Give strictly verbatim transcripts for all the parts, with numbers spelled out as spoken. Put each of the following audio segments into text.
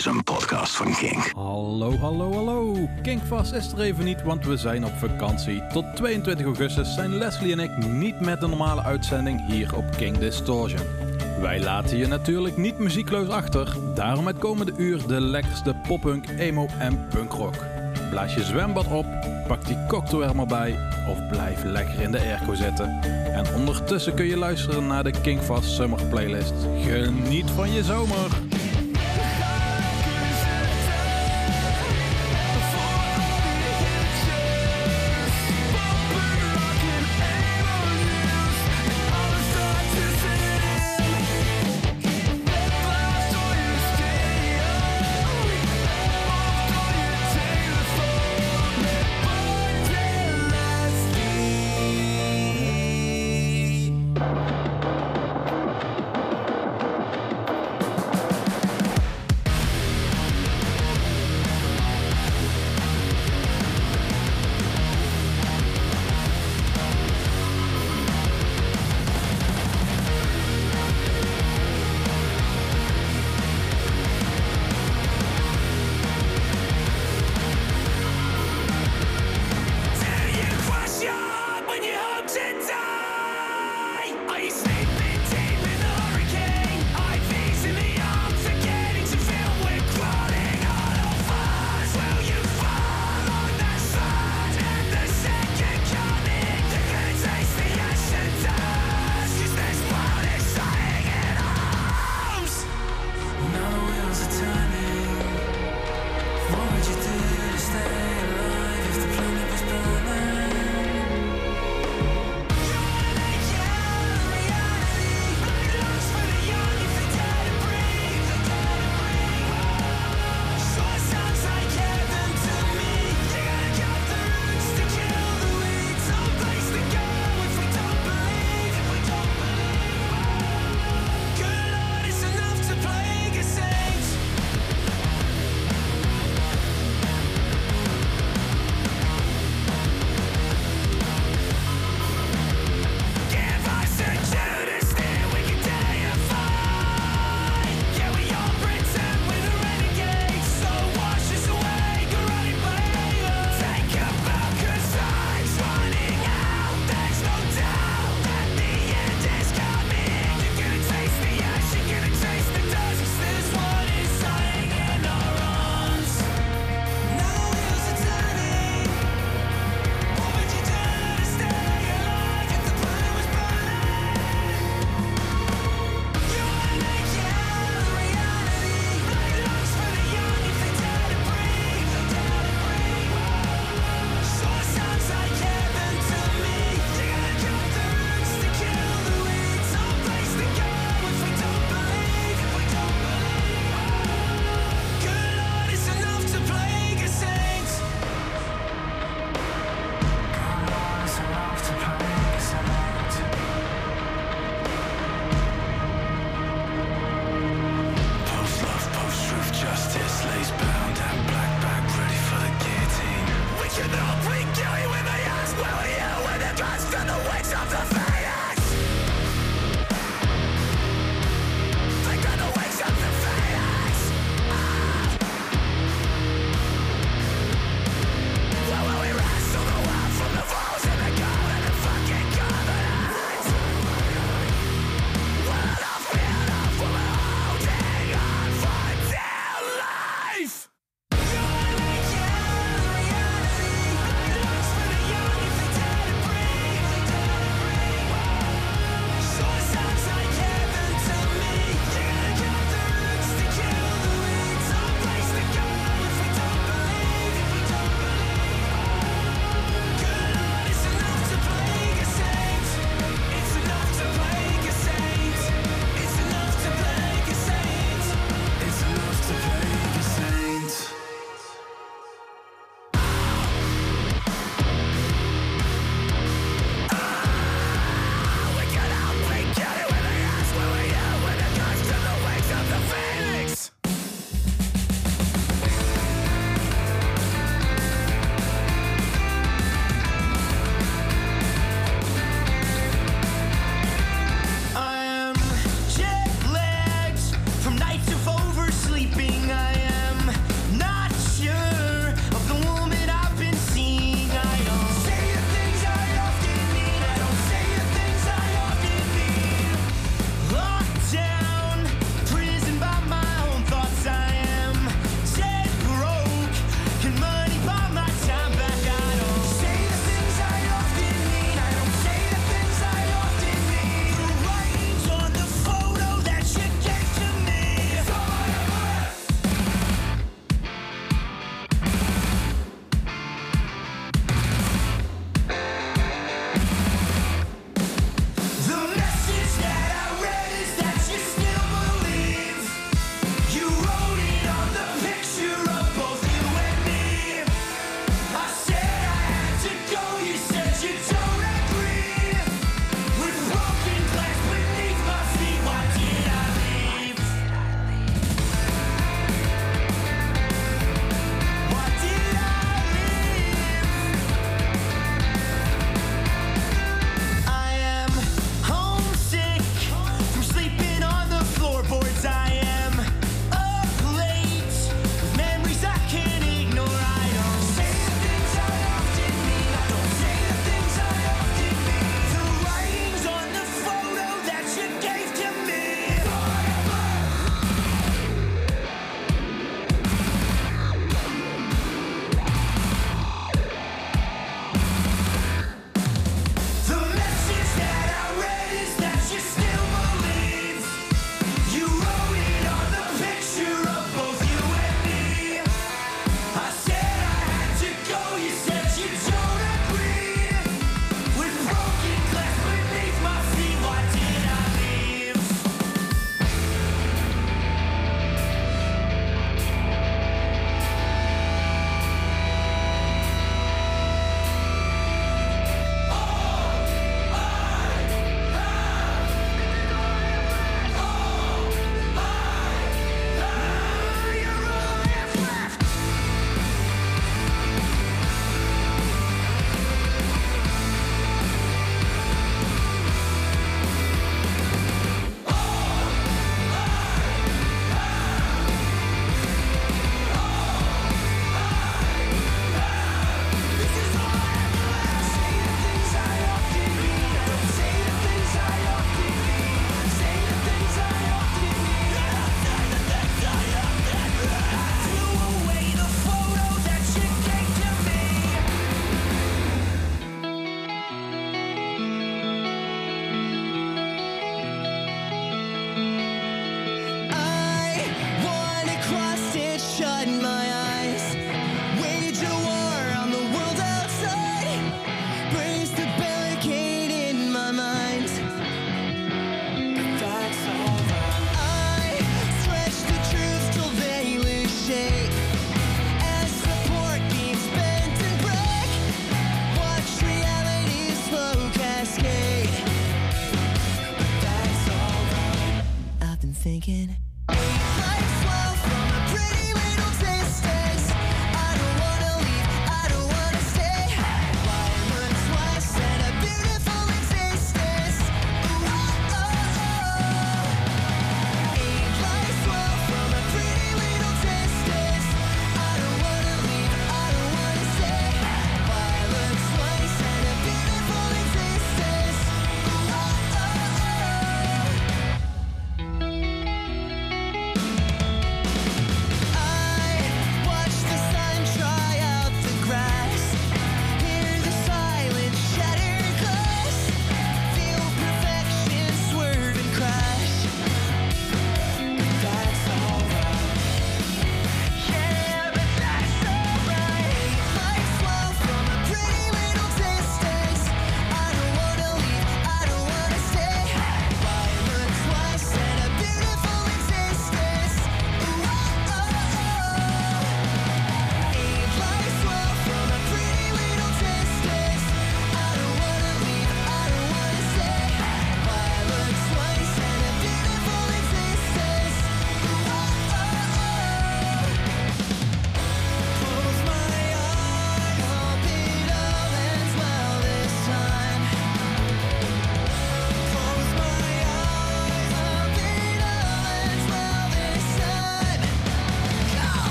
is een podcast van Kink. Hallo, hallo, hallo. Kinkvast is er even niet, want we zijn op vakantie. Tot tweeëntwintig augustus zijn Leslie en ik niet met de normale uitzending hier op Kink Distortion. Wij laten je natuurlijk niet muziekloos achter. Daarom het komende uur de lekkerste poppunk, emo en punkrock. Blaas je zwembad op, pak die cocktail er maar bij of blijf lekker in de airco zitten. En ondertussen kun je luisteren naar de Kinkvast Summer Playlist. Geniet van je zomer!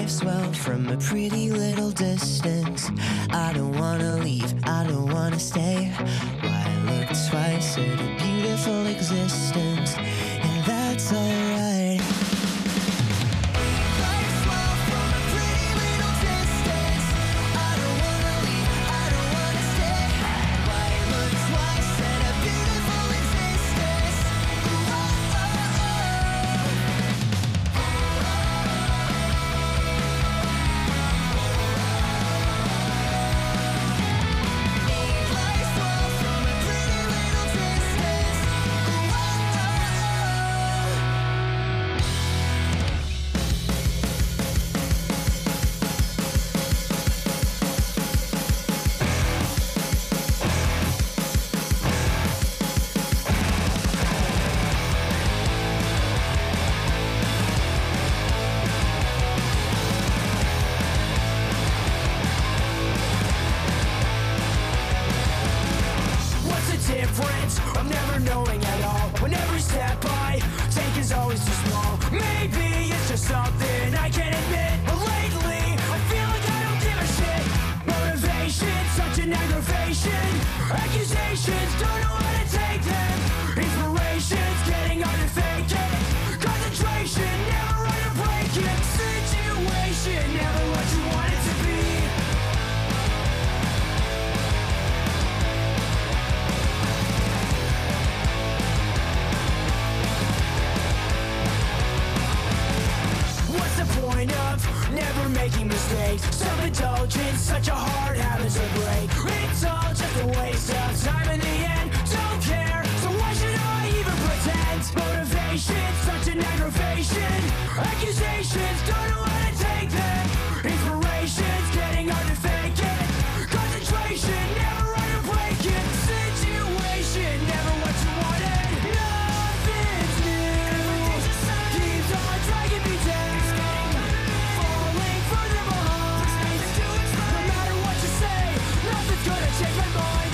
life's well from a pretty little distance. I don't wanna leave, I don't wanna stay. Why look twice at a beautiful existence? And that's alright. Self-indulgence, such a hard habit to break. It's all just a waste of time in the end. Don't care, so why should I even pretend? Motivation, such an aggravation. Accusations, don't know how to take them. Inspiration's getting hard to fake it. Concentration, never right or break it. Situation, never what you wanted. Nothing's new. Keeps on dragging me down. Falling further behind. No matter what you say, nothing's gonna change my mind.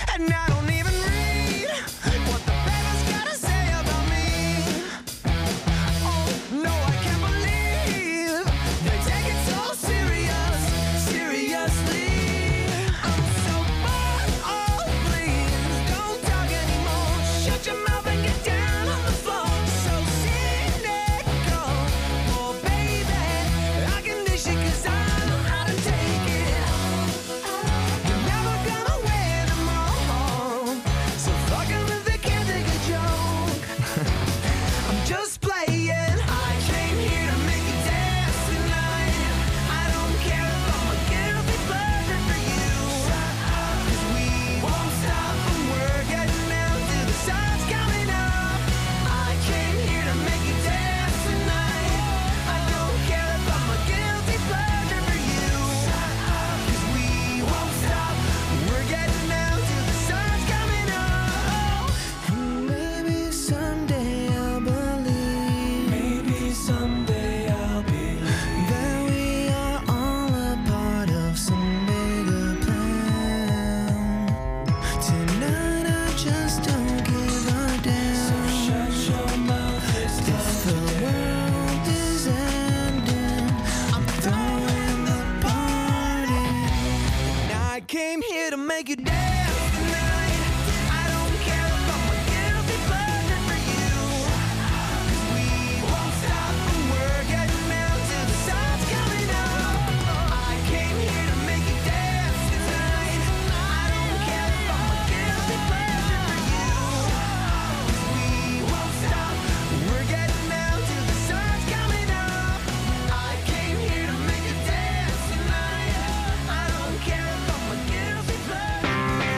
And I don't even read what the paper's gotta say about me. Oh, no, I can't believe they take it so serious, seriously. I'm so bored, oh please, don't talk anymore. Shut your mouth and get down on the floor. So cynical, oh baby, I can dish it 'cause I know how to take it. You're never gonna win them all, so fucking if they can't take a joke. I'm just playing. I came here to make you dance tonight. I don't care if I'm a guilty pleasure for you. 'Cause we won't stop and we're getting down till the sun's coming up. I came here to make you dance tonight. I don't care if I'm a guilty pleasure for you. 'Cause we won't stop, we're getting down till the sun's coming up. And maybe someday I'll believe. Maybe someday I'll believe that we are all a part of some bigger plan. Tonight I just don't give a damn. So shut your mouth, if the world is ending, I'm throwing the party. I came here to make you dance tonight. I don't care if I'm a guilty pleasure for you. 'Cause we won't stop and we're getting down till the sun's coming up. I came here to make you dance tonight. I don't care if I'm a guilty pleasure for you. 'Cause we won't stop, we're getting down till the sun's coming up. I came here to make you dance tonight. I don't care if I'm a guilty pleasure.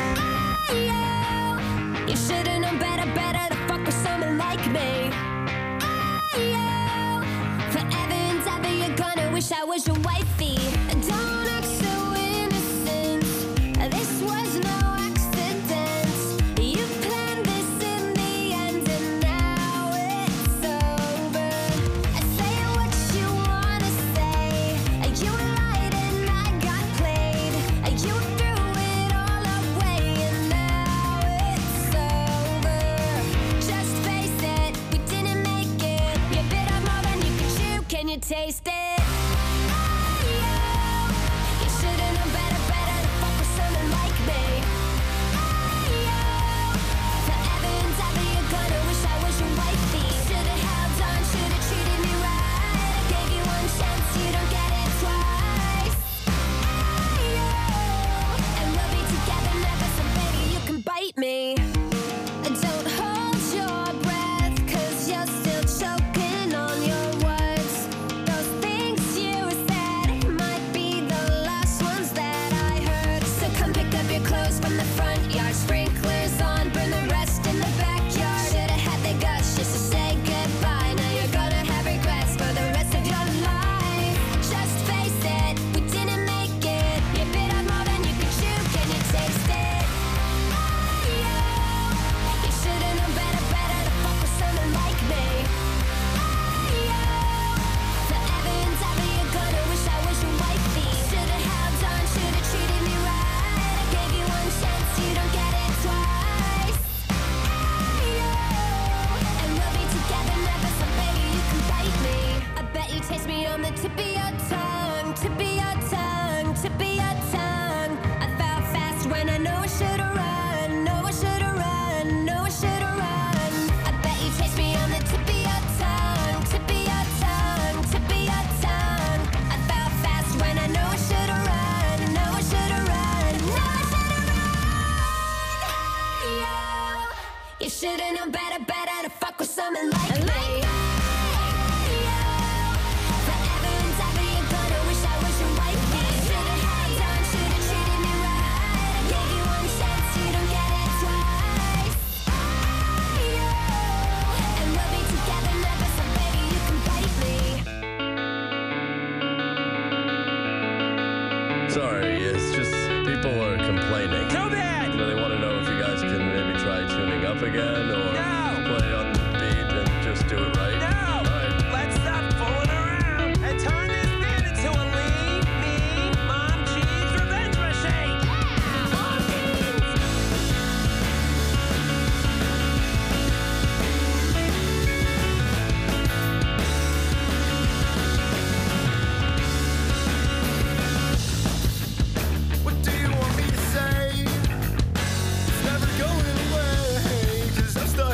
You should've known better, better to fuck with someone like me. Forever and ever you're gonna wish I was your wifey. Don't act so innocent. This was no accident. You planned this in the end and now it's over. Say what you wanna say. You lied and I got played. You threw it all away and now it's over. Just face it, we didn't make it. You bit off more than you could chew. Can you taste it? You should've known better, better to fuck with someone like me. Forever and ever you're gonna wish I was your wifey. Should've held on, should've treated me right. I gave you one chance, you don't get it twice. And we'll be together never, so baby you can bite me. Don't hold your breath, 'cause you're still choking on your words. Those things you said might be the last ones that I heard. So come pick up your clothes from the front yard. Sprinklers on, burn the rest in the backyard. Should've had the guts just to say goodbye. Now you're gonna have regrets for the rest of your life. Just face it, we didn't make it. You bit off more than you could chew. Can you taste it? You should've known better, better to fuck with someone like me. Forever and ever you're gonna wish I was your wifey. Should've held on, should've treated me right. I gave you one chance, you don't get it twice. And we'll be together never, so baby you can bite me. I bet you taste me on the tip of your tongue, tip of your tongue, tip of your tongue. I fell fast when I know I should've run, know I should've run, know I should've run. I bet you taste me on the tip of your tongue, tip of your tongue, tip of your tongue. I fell fast when I know I should've run, know I should've run, know I should've run. You should've known better, better to fuck with someone like me. Forever and ever you're gonna wish I was your wifey. Should've held on, should've treated me right. I gave you one chance, you don't get it twice. And we'll be together never, so baby you can bite me. Sorry, it's just people are complaining. Too bad! You know, they want to know if you guys can maybe try tuning up again or No! play on the beat and just do it right. No! All right. Let's stop fooling around and turn this band into a lean, mean, mom cheese revenge machine!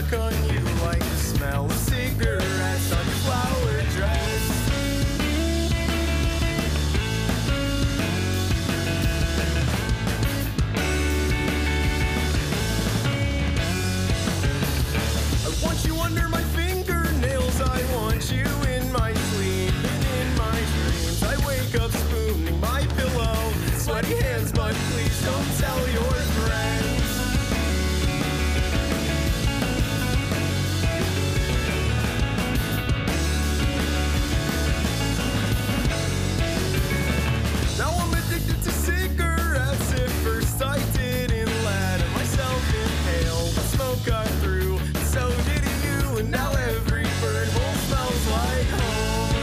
look on you like the smell of cigarettes on your flower dress. I want you under my fingernails, I want you in my sleep and in my dreams. I wake up spooning my pillow, sweaty hands, but please don't tell your friends. Now I'm addicted to cigarettes. At first I didn't let myself inhale, but smoke got through, and so did you. And now every bird hole smells like home.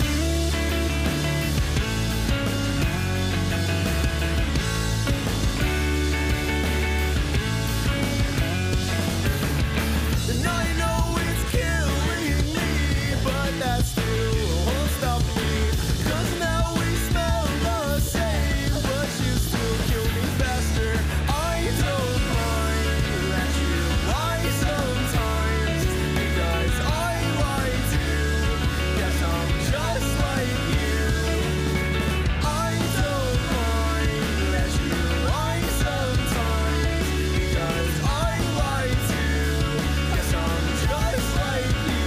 And I know it's killing me, but that still won't stop me. 'Cause now we smell the same, but you still kill me faster. I don't mind that you lie sometimes, because I lie too. Yes, I'm just like you. I don't mind that you lie sometimes, because I lie too. Yes, I'm just like you.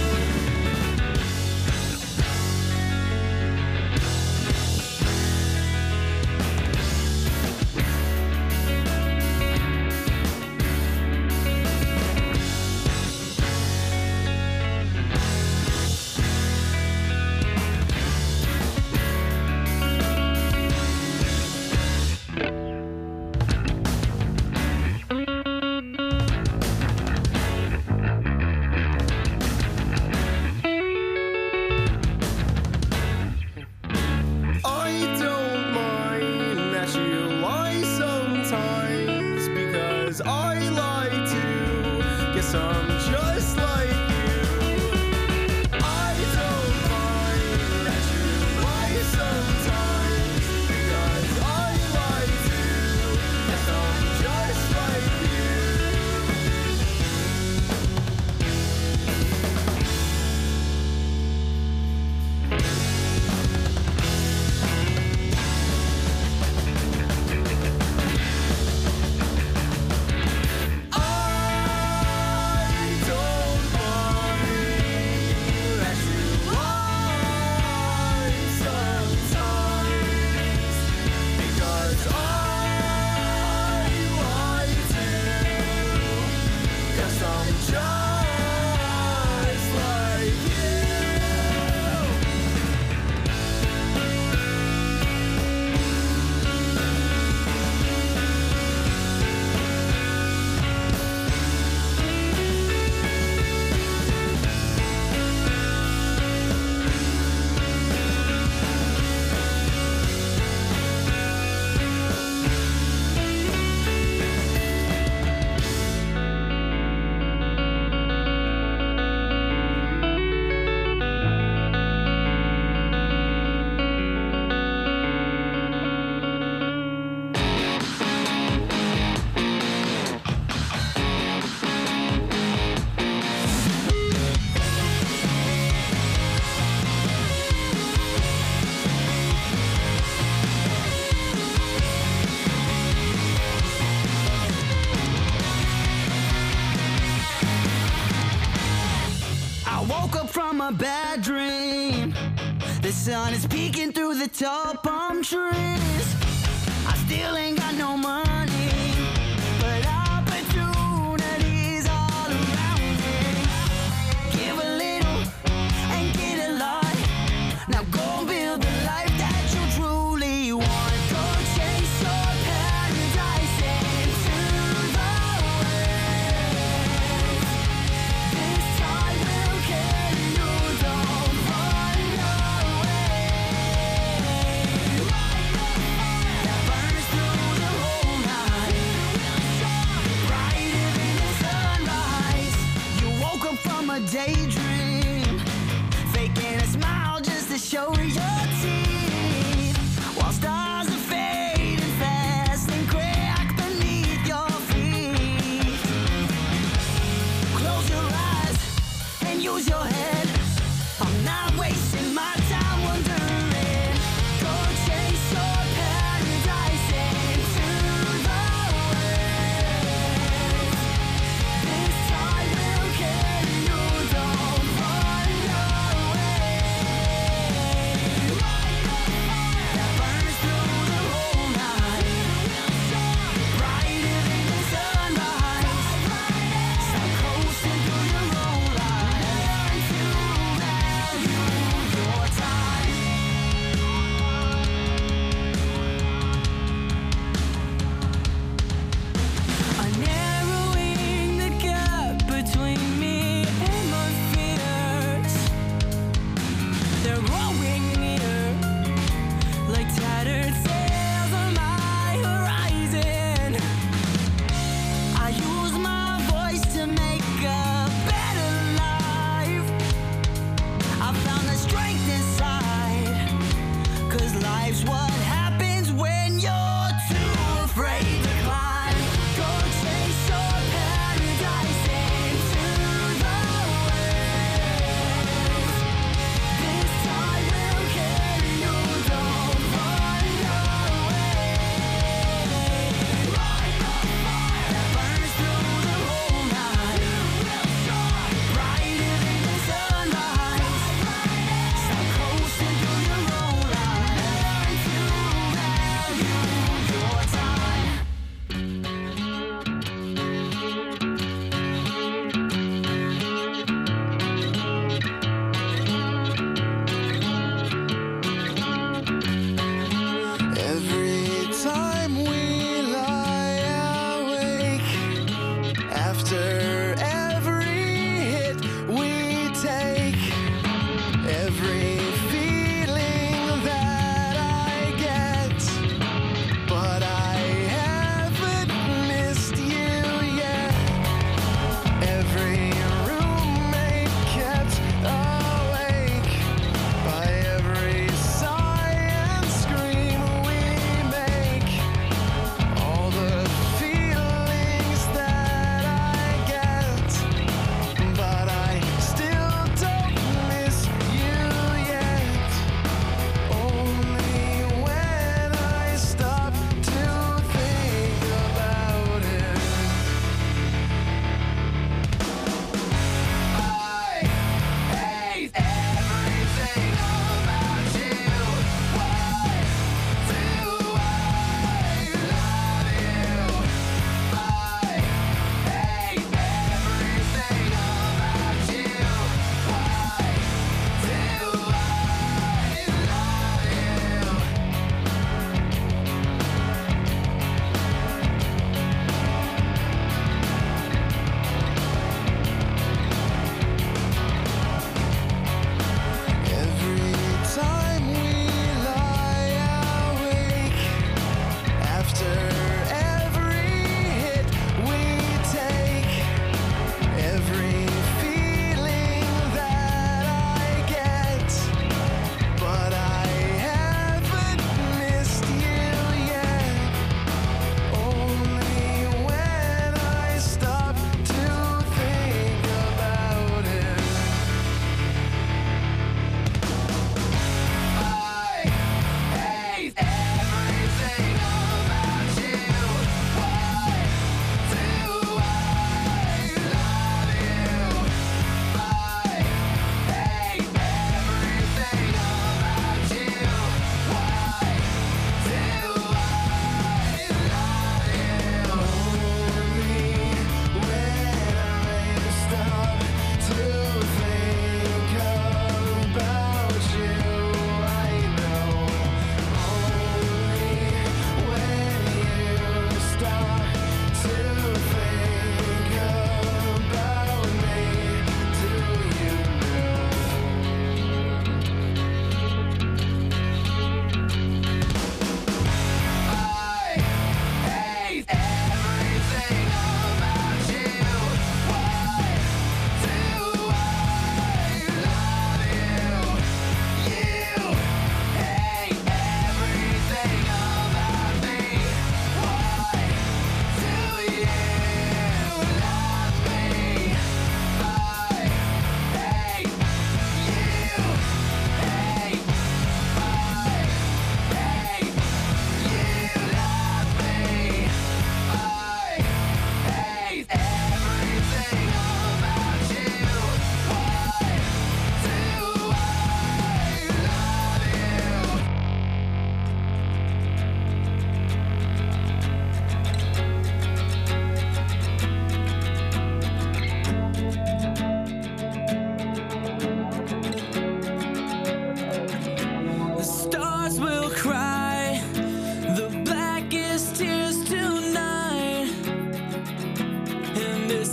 I don't mind that you lie sometimes, because I lie too. Guess I'm just like you. I don't mind that you lie sometimes, because I lie too. Guess I'm just like you. I don't mind that you lie sometimes, because I lie too. 'Cause I'm just like you. I woke up from a bad dream. The sun is peeking through the tall palm trees. I still ain't got no money, but opportunities all around me. Give a little and get a lot. Now go build the life that you truly want. Go chase your paradise into the west. This time will carry you, don't run away. Light the fire that burns through the whole night.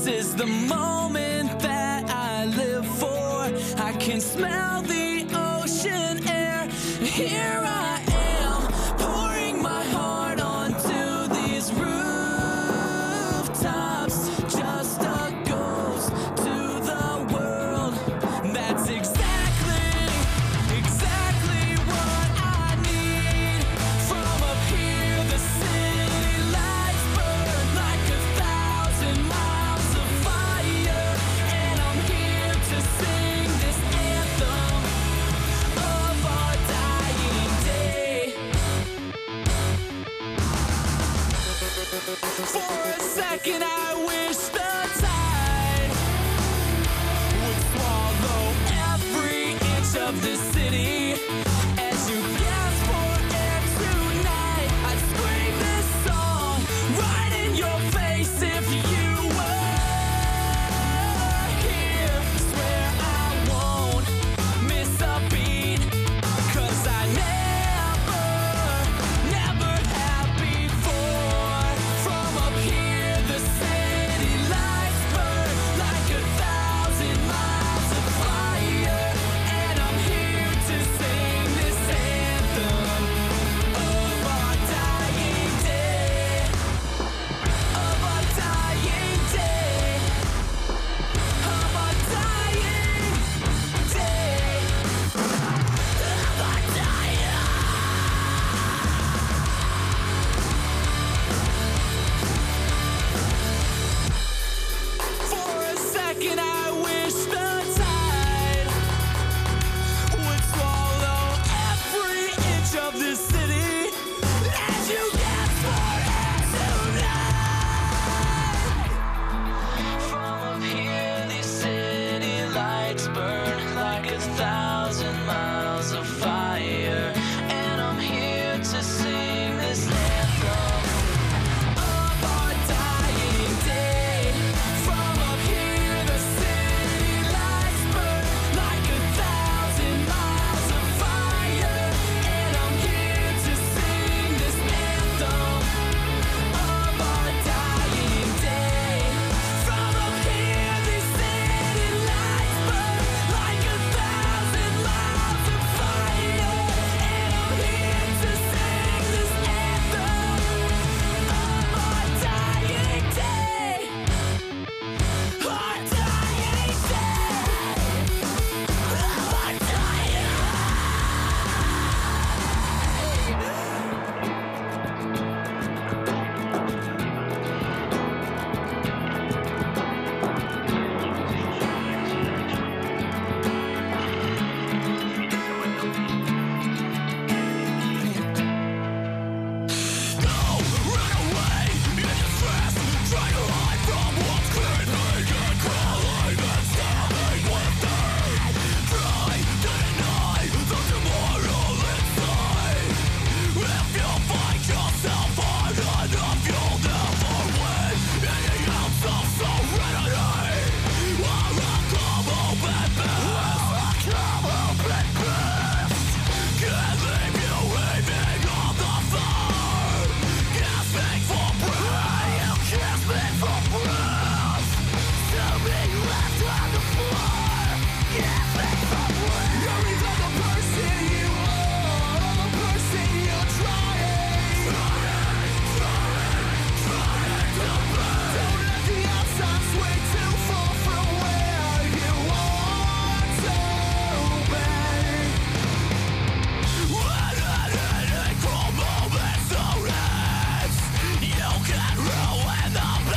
is the moment that I live for. I can smell the ocean air. Here I am, pouring my heart onto these rooftops. Just a ghost to the world. That's exactly, exactly what I need. From up here, the city lights burn like a thousand miles of fire. And I'm here to sing this anthem of our dying day. For a second, I wish the tide would swallow every inch of this city. As you gasp for air tonight, I'd scream this song right in your face if you were here. Swear I won't miss a beat, 'cause I never, never have before. From up here, the city lights burn like a thousand miles of fire. And I'm here to sing this anthem of our dying day. Of our dying day. Of our dying day. Of our dying. For a second, I wish the tide would swallow every inch of this city. As you gasp for air tonight. From up here, these city lights burn like a thousand miles of fire. And I'm here to sing this anthem of our dying day. From up here, the city lights burn like a thousand miles of fire. And I'm here to sing this anthem of our dying day. From up here, the city lights burn like a thousand miles of fire. And I'm here to sing this anthem of our dying day. Our dying day. Our dying.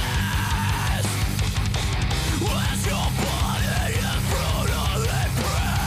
When your body is brutally pressed.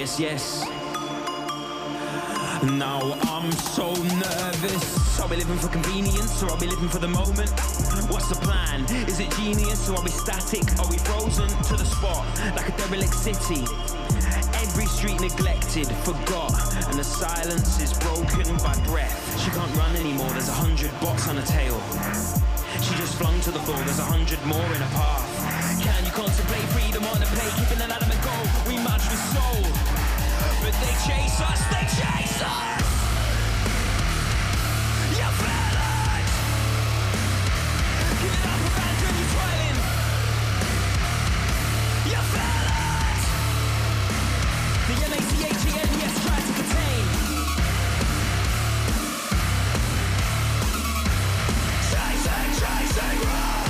yes, yes. Now I'm so nervous. Are we living for convenience or are we living for the moment? What's the plan? Is it genius or are we static? Are we frozen to the spot like a derelict city? Every street neglected, forgot, and the silence is broken by breath. She can't run anymore, there's a hundred bots on her tail. She just flung to the floor, there's a hundred more in her path. Can you contemplate freedom on the plate, keeping an element goal? We march with soul, but they chase us, they chase us! You feel it! Give it up, abandon your toiling! You feel it! The M A C H E N, yes, try to contain. Chasing, chasing, run!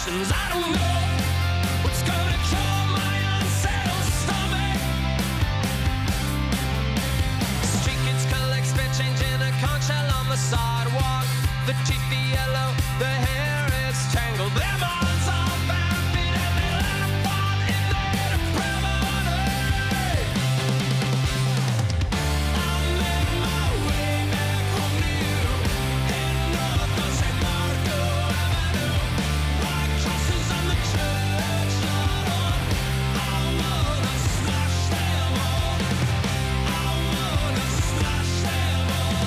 questions. I don't know what's gonna cure my unsettled stomach. Street kids collect spit change in a conch shell on the sidewalk. The teeth, the yellow, the hair is tangled. Their minds are barefoot and they let them fall in their depravity. I made my way back home to you in North San Marco Avenue. White crosses on the church lawn. I wanna smash them all. I wanna smash them all.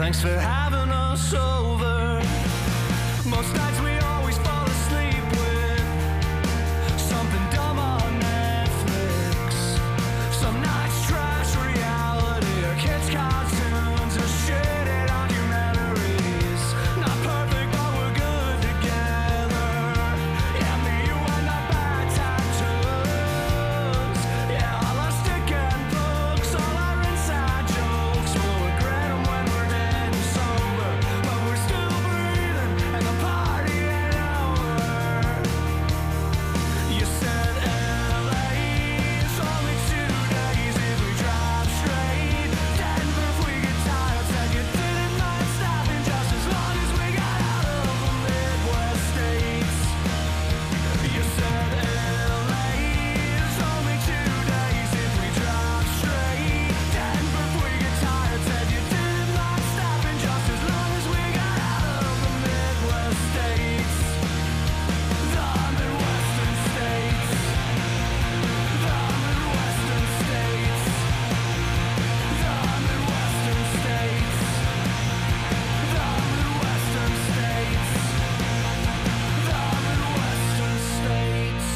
Thanks for having us over. Most nights we always fall asleep with something dumb on Netflix. Some nights trash reality or kids' cartoons or shitting on your memories. Not perfect, but we're good together. Yeah, me, you, and our bad tattoos. Yeah, all our stick and books, all our inside jokes. We'll regret them when we're dead and sober, but we're still breathing and the party ain't over. You said L A's only two days if we drive straight. Denver if we get tired, said you didn't mind stopping just as long as we got out of the Midwest states. You said L A's only two days if we drive straight. Denver if we get tired, said you didn't mind stopping just as long as we got out of the Midwest states. The Midwestern states. The Midwestern states. The Midwestern states. The Midwestern states. The Midwestern states.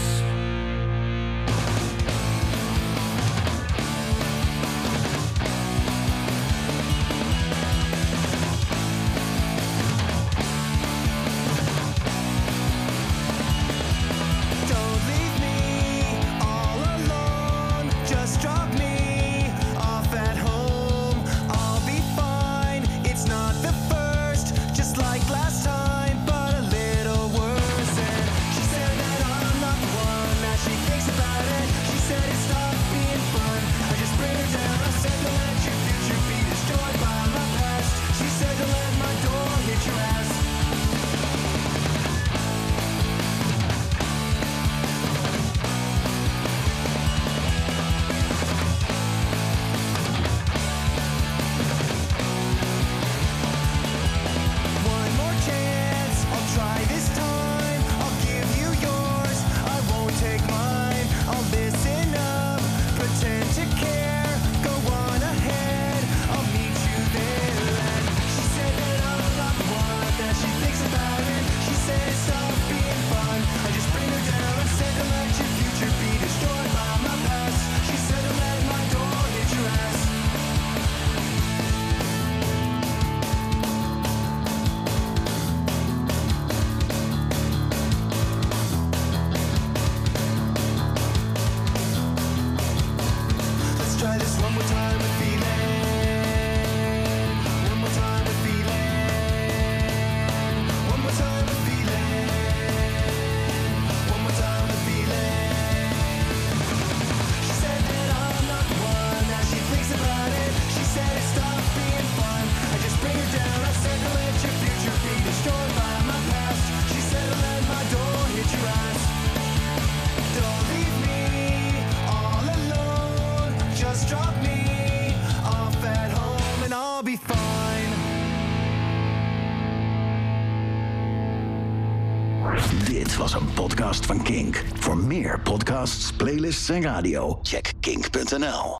Don't leave me all alone. Just drop me off at home. I'll be fine. It's not the first, just like last time, but a little worse. And she said that I'm not the one that she thinks about it. She said it stopped being fun. I just bring her down. I said to let your future be destroyed by my past. She said to let my door hit your ass. One more chance, I'll try this time. I'll give you yours, I won't take mine. I'll listen up, pretend to care. Go on ahead, I'll meet you there. And she said that I'm not the one that she thinks about it. She said it stopped being fun. I just bring her down. I said to let your future be destroyed by my past. She said to let my door hit your ass. Let's try this one more time with feeling. One more time with feeling. One more time with feeling. One more time with feeling. She said that I'm not the one that she thinks about it. She said it stopped being fun. I just bring her down. I said to let your future be destroyed by my past. She said to let my door hit your ass. Don't leave me all alone. Just drop me off at home and I'll be fine. Dit was een podcast van Kink. Voor meer podcasts, playlists en radio, check kink punt n l.